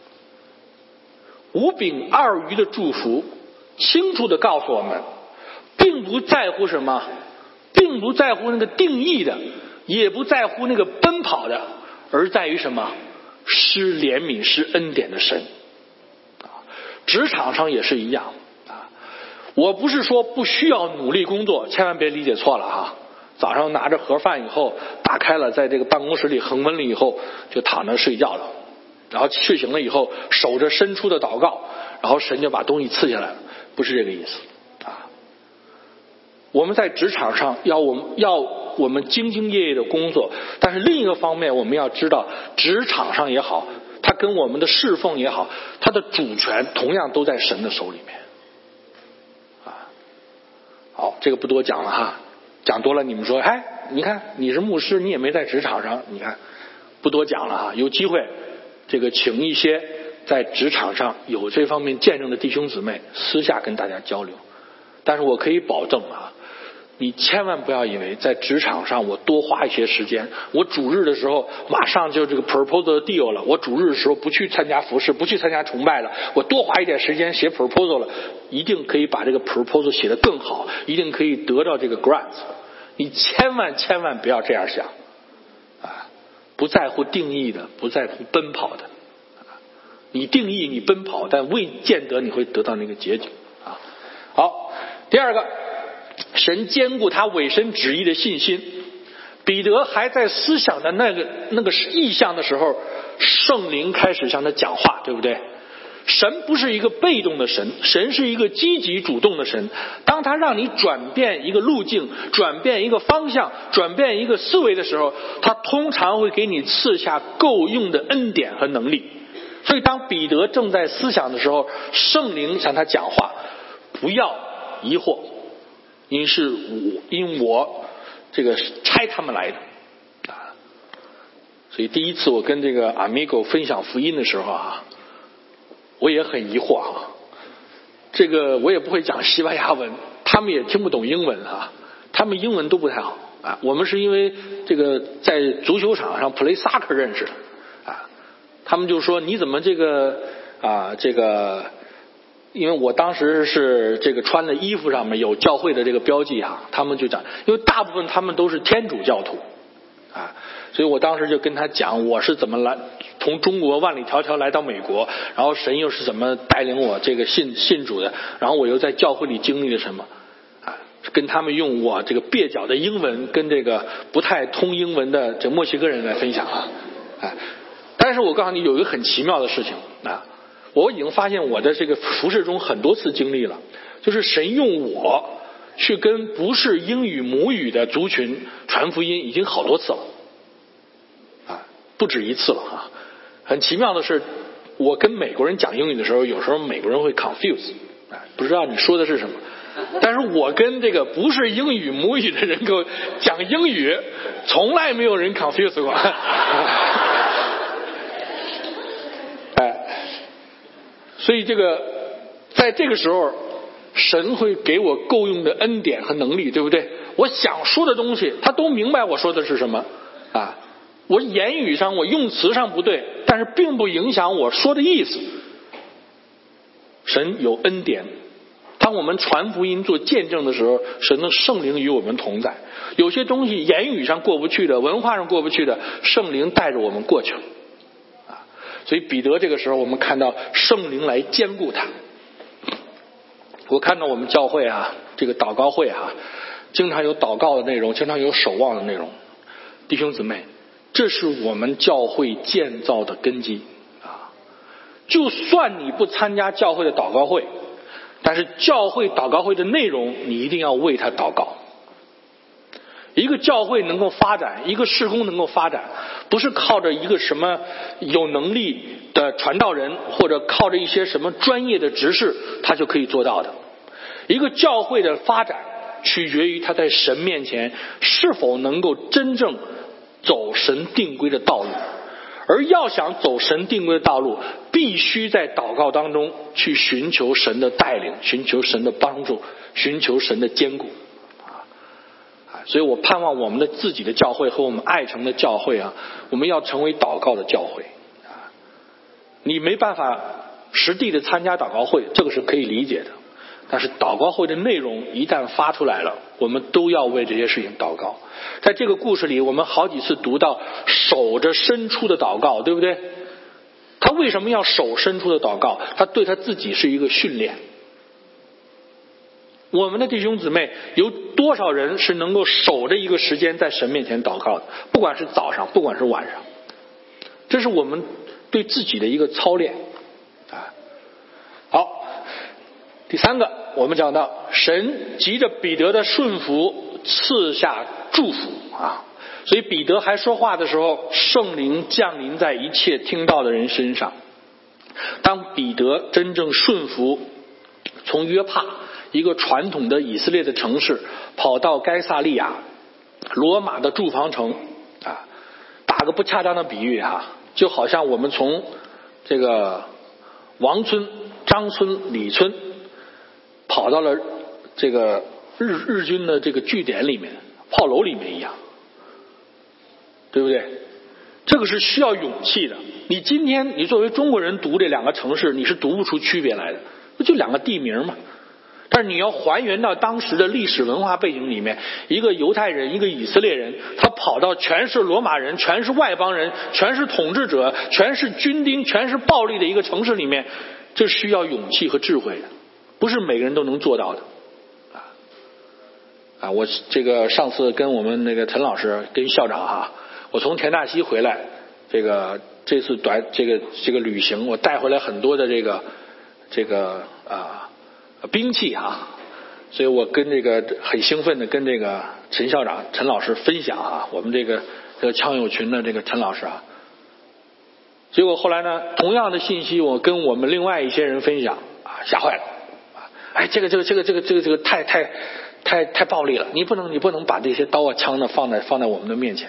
五饼二鱼的祝福清楚地告诉我们，并不在乎什么，并不在乎那个定义的，也不在乎那个奔跑的，而在于什么？施怜悯施恩典的神。职场上也是一样啊，我不是说不需要努力工作，千万别理解错了哈。早上拿着盒饭以后，打开了，在这个办公室里恒温了以后，就躺着睡觉了。然后睡醒了以后，守着伸出的祷告，然后神就把东西赐下来了，不是这个意思啊。我们在职场上要我们要我们兢兢业业的工作，但是另一个方面，我们要知道，职场上也好，它跟我们的侍奉也好，它的主权同样都在神的手里面啊。好，这个不多讲了哈，讲多了你们说，哎，你看你是牧师，你也没在职场上，你看不多讲了哈。有机会这个请一些在职场上有这方面见证的弟兄姊妹私下跟大家交流。但是我可以保证啊，你千万不要以为在职场上我多花一些时间，我主日的时候马上就这个 proposal deal 了，我主日的时候不去参加服事，不去参加崇拜了，我多花一点时间写 proposal 了，一定可以把这个 proposal 写得更好，一定可以得到这个 grant。 你千万千万不要这样想啊！不在乎定义的，不在乎奔跑的，你定义你奔跑，但未见得你会得到那个结局啊。好，第二个，神兼顾他委身旨意的信心。彼得还在思想的那个那个意象的时候，圣灵开始向他讲话，对不对？神不是一个被动的神，神是一个积极主动的神。当他让你转变一个路径，转变一个方向，转变一个思维的时候，他通常会给你赐下够用的恩典和能力。所以当彼得正在思想的时候，圣灵向他讲话，不要疑惑，因是我因我这个差他们来的啊。所以第一次我跟这个 Amigo 分享福音的时候啊，我也很疑惑啊，这个我也不会讲西班牙文，他们也听不懂英文啊，他们英文都不太好啊。我们是因为这个在足球场上 play soccer 认识的啊，他们就说你怎么这个啊这个，因为我当时是这个穿的衣服上面有教会的这个标记啊，他们就讲，因为大部分他们都是天主教徒啊，所以我当时就跟他讲我是怎么来从中国万里迢迢来到美国，然后神又是怎么带领我这个信信主的，然后我又在教会里经历了什么啊，跟他们用我这个蹩脚的英文跟这个不太通英文的这墨西哥人来分享啊。啊但是我告诉你有一个很奇妙的事情啊，我已经发现我的这个服事中很多次经历了，就是神用我去跟不是英语母语的族群传福音已经好多次了啊，不止一次了啊。很奇妙的是，我跟美国人讲英语的时候，有时候美国人会 confuse 啊，不知道你说的是什么。但是我跟这个不是英语母语的人给我讲英语，从来没有人 confuse 过。哎，所以这个在这个时候，神会给我够用的恩典和能力，对不对？我想说的东西，他都明白我说的是什么啊。我言语上我用词上不对，但是并不影响我说的意思。神有恩典，当我们传福音做见证的时候，神的圣灵与我们同在。有些东西言语上过不去的，文化上过不去的，圣灵带着我们过去了啊。所以彼得这个时候我们看到圣灵来兼顾他。我看到我们教会啊，这个祷告会啊，经常有祷告的内容，经常有守望的内容。弟兄姊妹，这是我们教会建造的根基啊！就算你不参加教会的祷告会，但是教会祷告会的内容，你一定要为他祷告。一个教会能够发展，一个事工能够发展，不是靠着一个什么有能力的传道人，或者靠着一些什么专业的执事，他就可以做到的。一个教会的发展，取决于他在神面前是否能够真正走神定规的道路，而要想走神定规的道路，必须在祷告当中去寻求神的带领，寻求神的帮助，寻求神的坚固啊。 所以我盼望我们的自己的教会和我们爱城的教会啊，我们要成为祷告的教会啊。你没办法实地的参加祷告会，这个是可以理解的，但是祷告会的内容一旦发出来了，我们都要为这些事情祷告。在这个故事里，我们好几次读到守着伸出的祷告，对不对？他为什么要守伸出的祷告？他对他自己是一个训练。我们的弟兄姊妹有多少人是能够守着一个时间在神面前祷告的？不管是早上，不管是晚上，这是我们对自己的一个操练啊。好，第三个，我们讲到神藉着彼得的顺服赐下祝福啊，所以彼得还说话的时候，圣灵降临在一切听到的人身上。当彼得真正顺服，从约帕一个传统的以色列的城市跑到该撒利亚，罗马的驻防城啊，打个不恰当的比喻哈，就好像我们从这个王村、张村、李村跑到了这个日日军的这个据点里面、炮楼里面一样，对不对？这个是需要勇气的。你今天你作为中国人读这两个城市，你是读不出区别来的，不就两个地名吗？但是你要还原到当时的历史文化背景里面，一个犹太人，一个以色列人，他跑到全是罗马人，全是外邦人，全是统治者，全是军丁，全是暴力的一个城市里面，这需要勇气和智慧的，不是每个人都能做到的啊啊！我这个上次跟我们那个陈老师跟校长哈，我从田大西回来，这个这次短这个这个旅行，我带回来很多的这个这个啊兵器啊，所以我跟这个很兴奋的跟这个陈校长陈老师分享啊，我们这个这个枪友群的这个陈老师啊，结果后来呢，同样的信息我跟我们另外一些人分享啊，吓坏了啊！哎，这个这个这个这个这个这个太太太太暴力了，你不能你不能把这些刀啊枪呢放在放在我们的面前。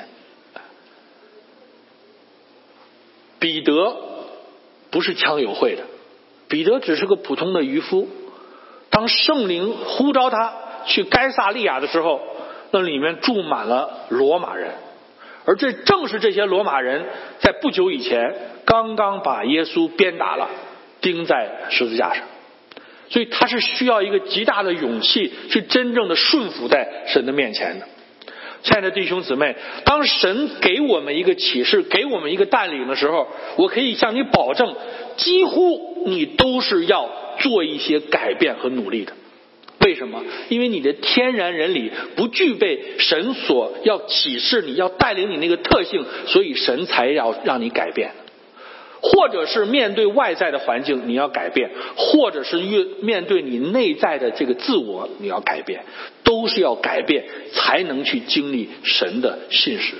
彼得不是枪友会的，彼得只是个普通的渔夫。当圣灵呼召他去该撒利亚的时候，那里面住满了罗马人，而这正是这些罗马人在不久以前刚刚把耶稣鞭打了，钉在十字架上。所以他是需要一个极大的勇气去真正的顺服在神的面前的。亲爱的弟兄姊妹，当神给我们一个启示，给我们一个带领的时候，我可以向你保证，几乎你都是要做一些改变和努力的。为什么？因为你的天然人里不具备神所要启示你要带领你那个特性，所以神才要让你改变。或者是面对外在的环境你要改变，或者是面对你内在的这个自我你要改变，都是要改变才能去经历神的信实。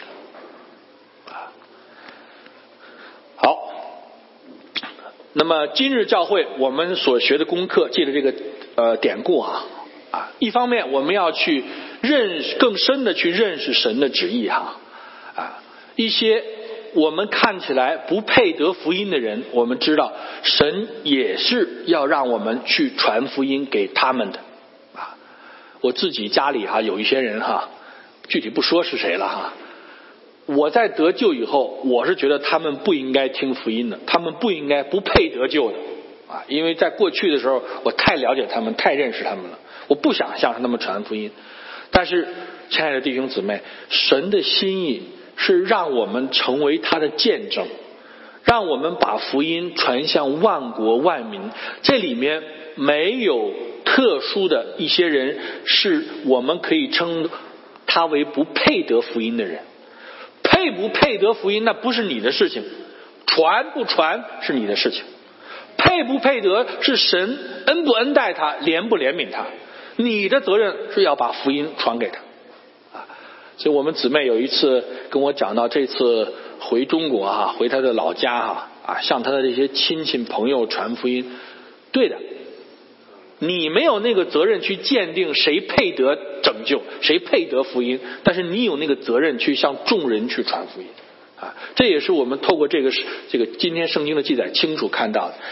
好，那么今日教会我们所学的功课，借着这个呃典故啊啊，一方面我们要去认识更深的去认识神的旨意哈啊，一些我们看起来不配得福音的人，我们知道神也是要让我们去传福音给他们的啊。我自己家里哈有一些人哈，具体不说是谁了哈，我在得救以后，我是觉得他们不应该听福音的，他们不应该不配得救的啊，因为在过去的时候我太了解他们，太认识他们了，我不想向他们传福音。但是亲爱的弟兄姊妹，神的心意是让我们成为他的见证，让我们把福音传向万国万民。这里面没有特殊的一些人是我们可以称他为不配得福音的人。配不配得福音那不是你的事情，传不传是你的事情，配不配得是神恩不恩待他，怜不怜悯他，你的责任是要把福音传给他。所以我们姊妹有一次跟我讲到，这次回中国哈，回他的老家哈啊，向他的这些亲戚朋友传福音。对的，你没有那个责任去鉴定谁配得拯救，谁配得福音，但是你有那个责任去向众人去传福音啊。这也是我们透过这个这个今天圣经的记载清楚看到的。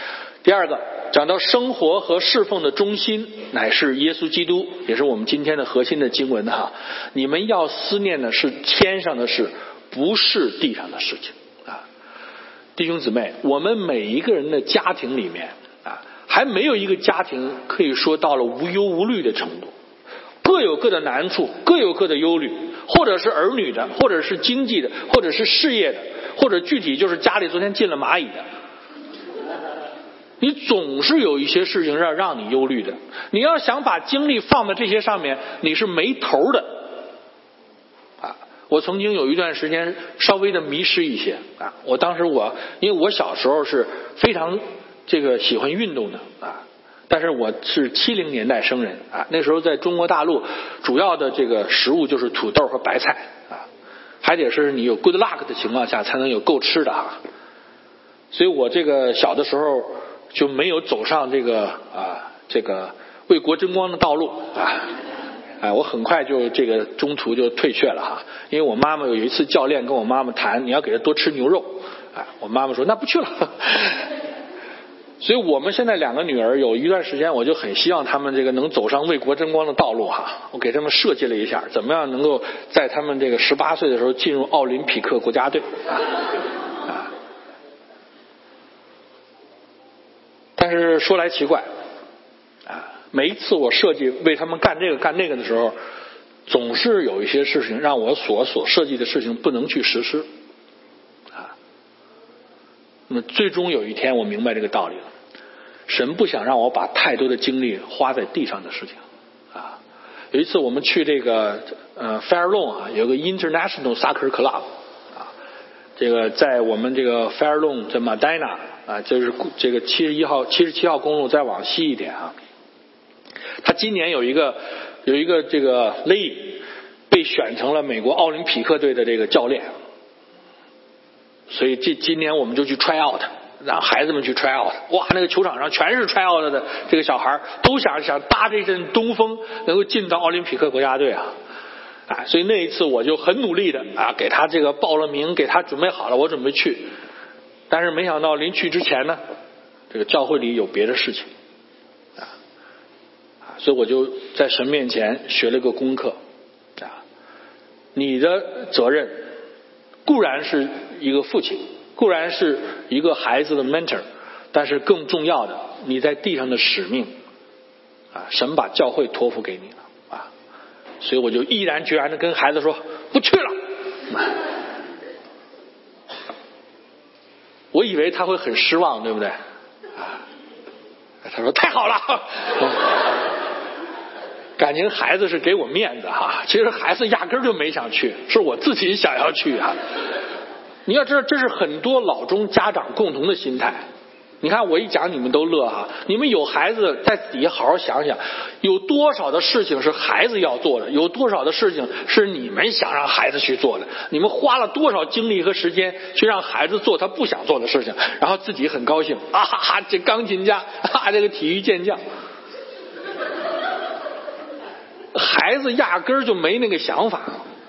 第二个讲到生活和侍奉的中心乃是耶稣基督，也是我们今天的核心的经文哈。你们要思念的是天上的事，不是地上的事情啊。弟兄姊妹，我们每一个人的家庭里面啊，还没有一个家庭可以说到了无忧无虑的程度，各有各的难处，各有各的忧虑，或者是儿女的，或者是经济的，或者是事业的，或者具体就是家里昨天进了蚂蚁的。你总是有一些事情让让你忧虑的，你要想把精力放在这些上面，你是没头的啊！我曾经有一段时间稍微的迷失一些啊，我当时我因为我小时候是非常这个喜欢运动的啊，但是我是七零年代生人啊，那时候在中国大陆主要的这个食物就是土豆和白菜啊，还得是你有 good luck 的情况下才能有够吃的啊，所以我这个小的时候就没有走上这个啊这个为国争光的道路啊，哎，我很快就这个中途就退却了哈，因为我妈妈有一次教练跟我妈妈谈，你要给她多吃牛肉，哎，我妈妈说那不去了。所以我们现在两个女儿有一段时间，我就很希望她们这个能走上为国争光的道路哈，我给她们设计了一下，怎么样能够在她们这个十八岁的时候进入奥林匹克国家队啊。但是说来奇怪啊，每一次我设计为他们干这个干那个的时候，总是有一些事情让我所所设计的事情不能去实施啊。那么最终有一天我明白这个道理了，神不想让我把太多的精力花在地上的事情啊。有一次我们去这个呃 Fair Lawn 啊，有个 International Soccer Club 啊，这个在我们这个 Fair Lawn 在 Medina啊，就是这个七十一号、七十七号公路再往西一点啊。他今年有一个有一个这个 lady 被选成了美国奥林匹克队的这个教练，所以这今年我们就去 try out， 让孩子们去 try out。哇，那个球场上全是 try out 的这个小孩，都想想搭这阵东风，能够进到奥林匹克国家队啊。啊，所以那一次我就很努力的啊，给他这个报了名，给他准备好了，我准备去。但是没想到临去之前呢，这个教会里有别的事情啊，所以我就在神面前学了个功课啊。你的责任固然是一个父亲，固然是一个孩子的 mentor， 但是更重要的，你在地上的使命啊，神把教会托付给你了啊，所以我就毅然决然的跟孩子说不去了。我以为他会很失望，对不对？啊，他说太好了，感情孩子是给我面子哈。其实孩子压根儿就没想去，是我自己想要去啊。你要知道，这是很多老中家长共同的心态。你看我一讲你们都乐哈，你们有孩子在底下好好想想，有多少的事情是孩子要做的，有多少的事情是你们想让孩子去做的，你们花了多少精力和时间去让孩子做他不想做的事情，然后自己很高兴啊哈哈，这钢琴家啊，这个体育健将，孩子压根儿就没那个想法。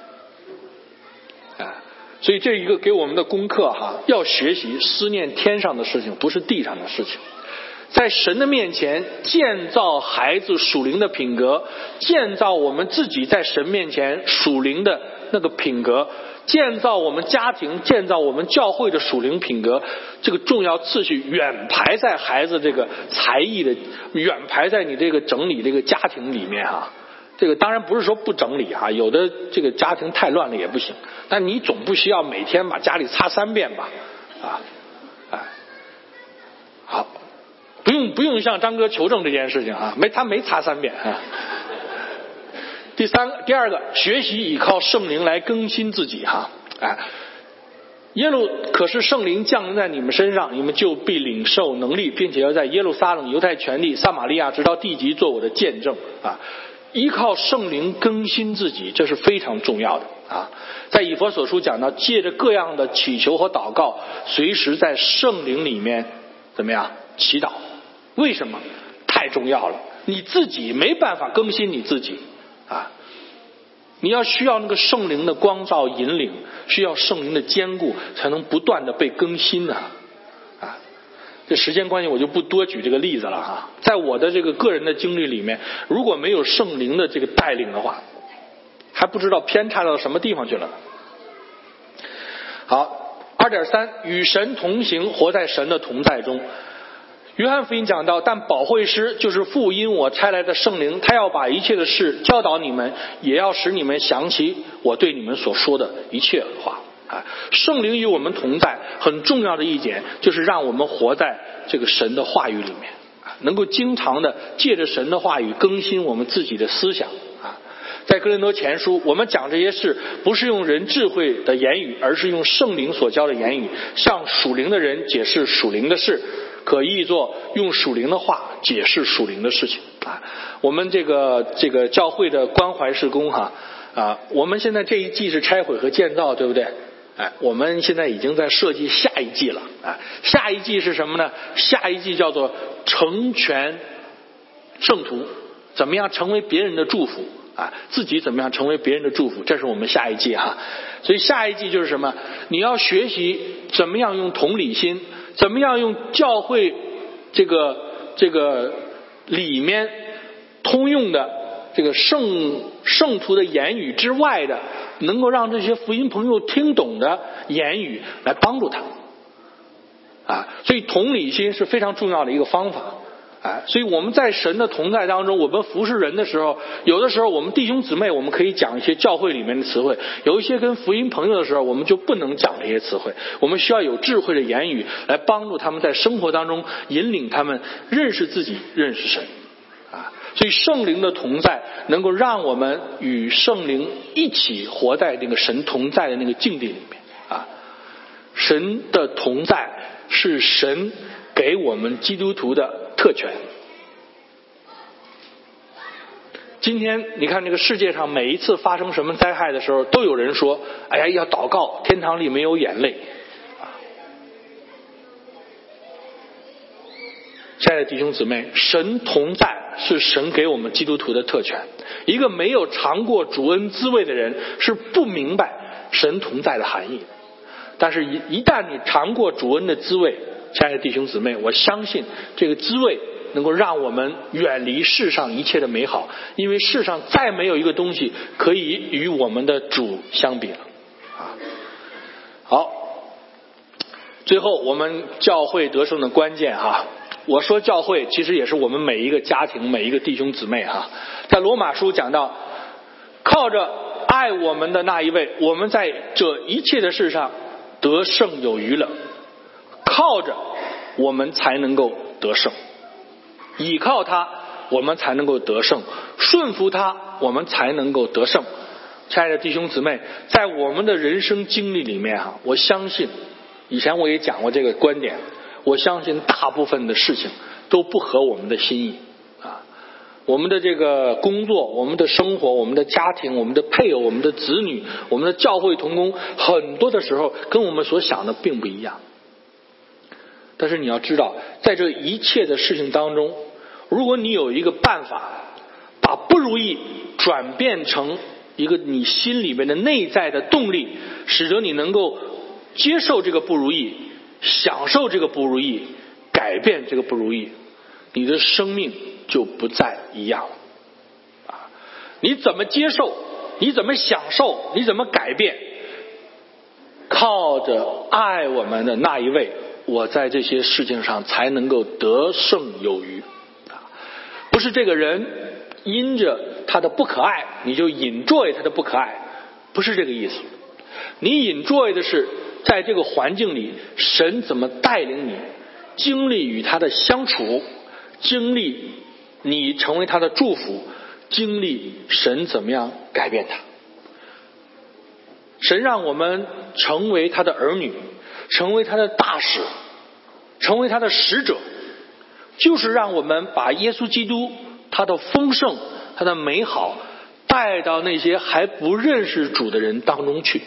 所以这一个给我们的功课哈，要学习思念天上的事情，不是地上的事情。在神的面前建造孩子属灵的品格，建造我们自己在神面前属灵的那个品格，建造我们家庭，建造我们教会的属灵品格，这个重要次序远排在孩子这个才艺的，远排在你这个整理这个家庭里面哈。这个当然不是说不整理哈，有的这个家庭太乱了也不行，但你总不需要每天把家里擦三遍吧，啊，哎，好，不用不用向张哥求证这件事情啊，没他没擦三遍啊。第三个，第二个，学习依靠圣灵来更新自己哈，哎，耶路可是圣灵降临在你们身上，你们就必领受能力，并且要在耶路撒冷、犹太全地、撒玛利亚直到地极做我的见证啊。依靠圣灵更新自己，这是非常重要的啊！在以弗所书讲到，借着各样的祈求和祷告，随时在圣灵里面怎么样祈祷？为什么？太重要了！你自己没办法更新你自己啊！你要需要那个圣灵的光照引领，需要圣灵的坚固，才能不断的被更新的啊！ 这时间关系我就不多举这个例子了哈。在我的这个个人的经历里面，如果没有圣灵的这个带领的话，还不知道偏差到什么地方去了。好， 二点三 与神同行，活在神的同在中。约翰福音讲到，但保惠师就是父因我差来的圣灵，他要把一切的事教导你们，也要使你们想起我对你们所说的一切话。啊，圣灵与我们同在，很重要的一点就是让我们活在这个神的话语里面，能够经常的借着神的话语更新我们自己的思想。啊，在哥林多前书，我们讲这些事不是用人智慧的言语，而是用圣灵所教的言语，向属灵的人解释属灵的事，可译作用属灵的话解释属灵的事情。啊，我们这个这个教会的关怀事工哈啊，我们现在这一季是拆毁和建造，对不对？哎，我们现在已经在设计下一季了。啊，下一季是什么呢？下一季叫做成全圣徒，怎么样成为别人的祝福啊？自己怎么样成为别人的祝福？这是我们下一季哈。所以下一季就是什么？你要学习怎么样用同理心，怎么样用教会这个这个里面通用的这个圣圣徒的言语之外的，能够让这些福音朋友听懂的言语来帮助他啊。所以同理心是非常重要的一个方法。啊，所以我们在神的同在当中，我们服侍人的时候，有的时候我们弟兄姊妹我们可以讲一些教会里面的词汇，有一些跟福音朋友的时候我们就不能讲这些词汇，我们需要有智慧的言语来帮助他们在生活当中引领他们认识自己，认识神。啊，所以圣灵的同在能够让我们与圣灵一起活在那个神同在的那个境地里面。啊，神的同在是神给我们基督徒的特权。今天你看这个世界上每一次发生什么灾害的时候，都有人说，哎呀，要祷告，天堂里没有眼泪。亲爱的弟兄姊妹，神同在是神给我们基督徒的特权。一个没有尝过主恩滋味的人是不明白神同在的含义的。但是一一旦你尝过主恩的滋味，亲爱的弟兄姊妹，我相信这个滋味能够让我们远离世上一切的美好，因为世上再没有一个东西可以与我们的主相比了。啊，好，最后我们教会得胜的关键哈，我说教会其实也是我们每一个家庭每一个弟兄姊妹哈。在罗马书讲到，靠着爱我们的那一位，我们在这一切的事上得胜有余了。靠着我们才能够得胜，倚靠他我们才能够得胜，顺服他我们才能够得胜。亲爱的弟兄姊妹，在我们的人生经历里面哈，我相信以前我也讲过这个观点，我相信大部分的事情都不合我们的心意啊。我们的这个工作，我们的生活，我们的家庭，我们的配偶，我们的子女，我们的教会同工，很多的时候跟我们所想的并不一样。但是你要知道，在这一切的事情当中，如果你有一个办法把不如意转变成一个你心里面的内在的动力，使得你能够接受这个不如意，享受这个不如意，改变这个不如意，你的生命就不再一样了。啊，你怎么接受，你怎么享受，你怎么改变，靠着爱我们的那一位，我在这些事情上才能够得胜有余。不是这个人因着他的不可爱你就enjoy他的不可爱，不是这个意思。你enjoy的是在这个环境里神怎么带领你，经历与他的相处，经历你成为他的祝福，经历神怎么样改变他。神让我们成为他的儿女，成为他的大使，成为他的使者，就是让我们把耶稣基督他的丰盛，他的美好带到那些还不认识主的人当中去。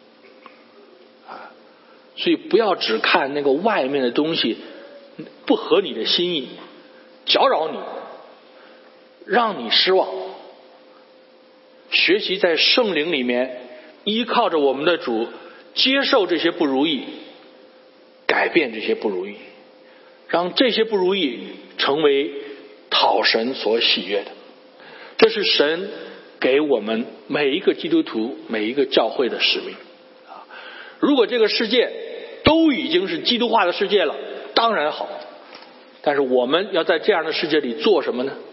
所以不要只看那个外面的东西不合你的心意，搅扰你，让你失望。学习在圣灵里面依靠着我们的主，接受这些不如意，改变这些不如意， 让这些不如意成为讨神所喜悦的。这是神给我们每一个基督徒每一个教会的使命。如果这个世界都已经是基督化的世界了，当然好，但是我们要在这样的世界里做什么呢？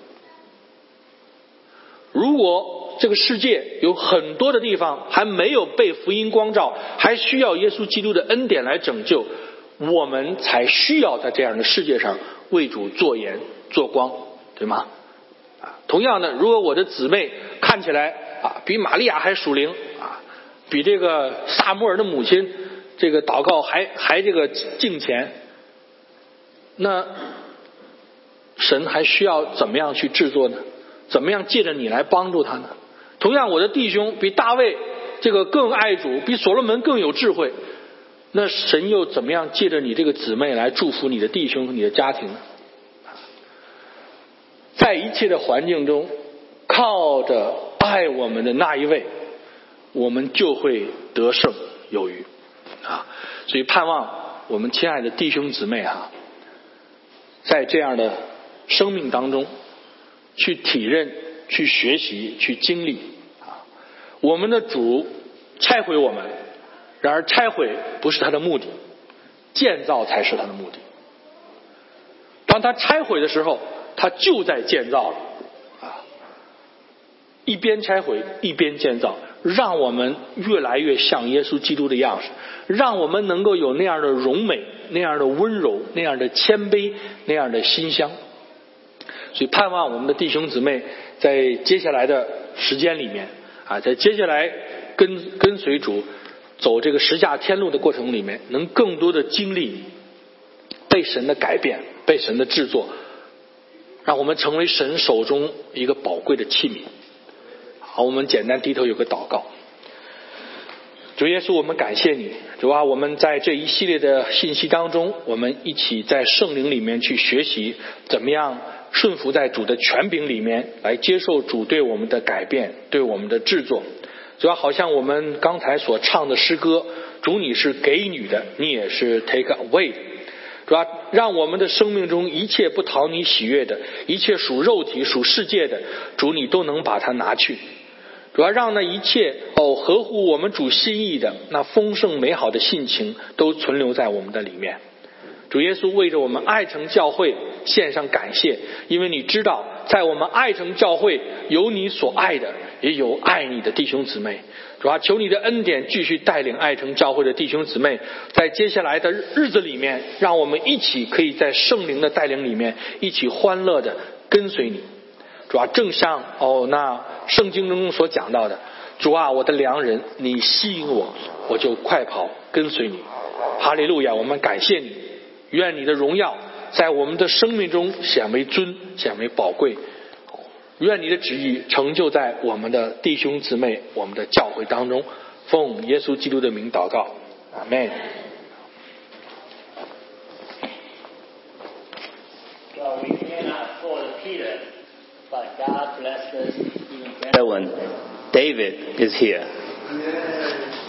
如果这个世界有很多的地方还没有被福音光照，还需要耶稣基督的恩典来拯救，我们才需要在这样的世界上为主做盐做光，对吗？同样的，如果我的姊妹看起来啊比玛利亚还属灵啊，比这个撒母耳的母亲这个祷告还还这个敬虔，那神还需要怎么样去制作呢？怎么样借着你来帮助他呢？同样，我的弟兄比大卫这个更爱主，比所罗门更有智慧，那神又怎么样借着你这个姊妹来祝福你的弟兄你的家庭呢？在一切的环境中，靠着爱我们的那一位，我们就会得胜有余啊！所以盼望我们亲爱的弟兄姊妹啊，在这样的生命当中去体认、去学习、去经历啊！我们的主拆毁我们，然而拆毁不是他的目的，建造才是他的目的。当他拆毁的时候，他就在建造了啊！一边拆毁一边建造，让我们越来越像耶稣基督的样式，让我们能够有那样的荣美、那样的温柔、那样的谦卑、那样的馨香。所以盼望我们的弟兄姊妹在接下来的时间里面啊，在接下来跟跟随主走这个十架天路的过程里面，能更多的经历被神的改变、被神的制作，让我们成为神手中一个宝贵的器皿。好，我们简单低头有个祷告。主耶稣，我们感谢你，主啊，我们在这一系列的信息当中，我们一起在圣灵里面去学习怎么样顺服在主的权柄里面，来接受主对我们的改变，对我们的制作。主啊，好像我们刚才所唱的诗歌，主你是给予的，你也是 take away 的。主啊，让我们的生命中一切不讨你喜悦的，一切属肉体属世界的，主你都能把它拿去。主要让那一切哦合乎我们主心意的那丰盛美好的性情都存留在我们的里面。主耶稣为着我们爱城教会献上感谢，因为你知道在我们爱城教会有你所爱的，也有爱你的弟兄姊妹。主啊，求你的恩典继续带领爱城教会的弟兄姊妹，在接下来的日子里面，让我们一起可以在圣灵的带领里面一起欢乐的跟随你。主啊，正像哦那圣经中所讲到的，主啊，我的良人，你吸引我，我就快跑跟随你。哈利路亚，我们感谢你，愿你的荣耀在我们的生命中显为尊，显为宝贵。愿你的旨意成就在我们的弟兄姊妹、我们的教会当中，奉耶稣基督的名祷告，阿们。 Well, we cannot afford Peter, but God bless us even better when David is here.